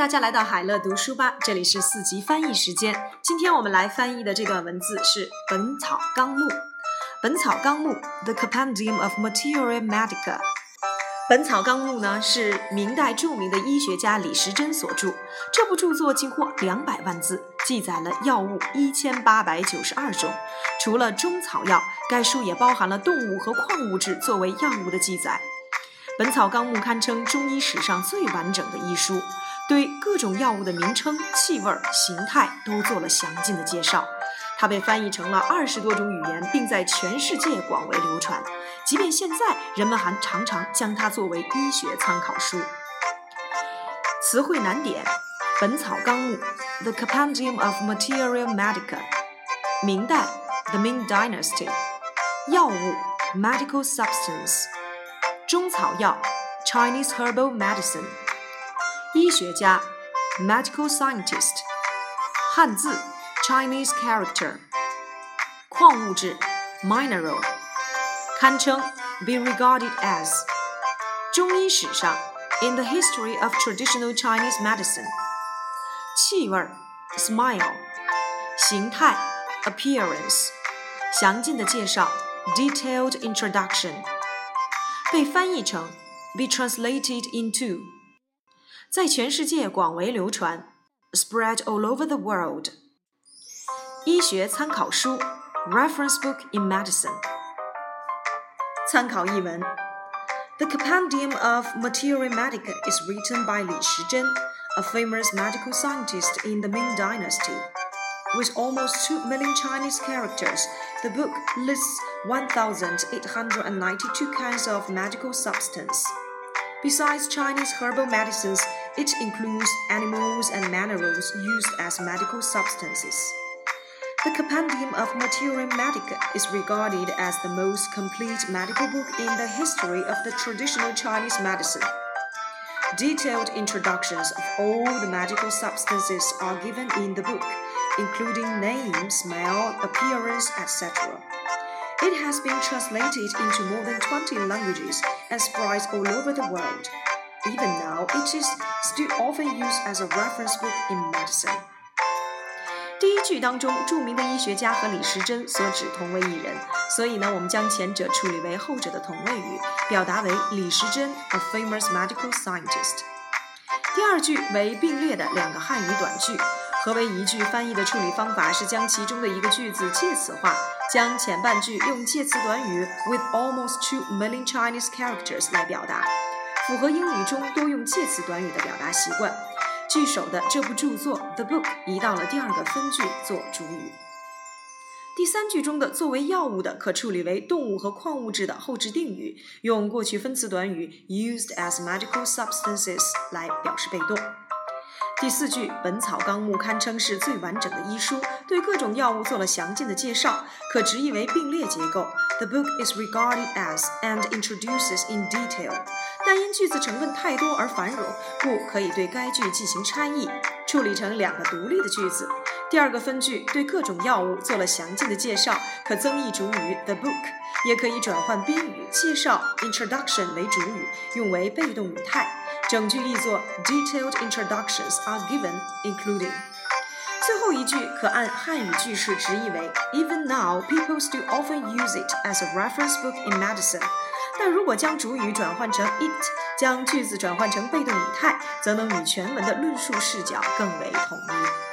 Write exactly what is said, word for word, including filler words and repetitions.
大家来到海乐读书吧，这里是四级翻译时间。今天我们来翻译的这段文字是《本草纲目》。《本草纲目》 The Compendium of Materia Medica。 本草纲目呢是明代著名的医学家李时珍所著，这部著作近乎两百万字，记载了药物一千八百九十二种。除了中草药，该书也包含了动物和矿物质作为药物的记载。本草纲目堪称中医史上最完整的医书，对各种药物的名称、气味、形态都做了详尽的介绍。它被翻译成了二十多种语言，并在全世界广为流传。即便现在，人们还常常将它作为医学参考书。词汇难点：本草纲目 The Compendium of Materia Medica。 明代 The Ming Dynasty。 药物 Medical Substance。 中草药 Chinese Herbal Medicine。 医学家 Medical Scientist。 汉字 Chinese Character。 矿物质 Mineral。 堪称 Be regarded as。 中医史上 In the history of traditional Chinese medicine。 气味 Smile。 形态 Appearance。 详尽的介绍 Detailed introduction。 被翻译成 Be translated into。 在全世界广为流传 Spread all over the world。 医学参考书 Reference book in medicine。 参考译文 The Compendium of Materia Medica is written by Li Shizhen, a famous medical scientist in the Ming Dynasty. With almost two million Chinese characters, the book lists one thousand eight hundred ninety-two kinds of medical substance. Besides Chinese herbal medicines, it includes animals and minerals used as medical substances. The Compendium of Materia Medica is regarded as the most complete medical book in the history of the traditional Chinese medicine. Detailed introductions of all the medical substances are given in the book, including name, smell, appearance, et cetera. It has been translated into more than twenty languages and spread all over the world. Even now, it is still often used as a reference book in medicine. 第一句当中，著名的医学家和李时珍所指同为一人，所以呢，我们将前者处理为后者的同位语，表达为李时珍 a famous medical scientist。 第二句为并列的两个汉语短句。何为一句翻译的处理方法是将其中的一个句子介词化，将前半句用介词短语 with almost two million Chinese characters 来表达，符合英语中多用介词短语的表达习惯。句首的这部著作 The Book 移到了第二个分句做主语。第三句中的作为药物的可处理为动物和矿物质的后置定语，用过去分词短语 used as medical substances 来表示被动。第四句，本草纲目堪称是最完整的医书，对各种药物做了详尽的介绍，可直译为并列结构。The book is regarded as and introduces in detail。 但因句子成分太多而繁冗，故可以对该句进行拆译，处理成两个独立的句子。第二个分句对各种药物做了详尽的介绍，可增益主语 the book， 也可以转换宾语介绍 introduction 为主语，用为被动语态。整句译作 Detailed introductions are given, including。 最后一句可按汉语句式直译为 Even now, people still often use it as a reference book in medicine。 但如果将主语转换成 it， 将句子转换成被动语态，则能与全文的论述视角更为统一。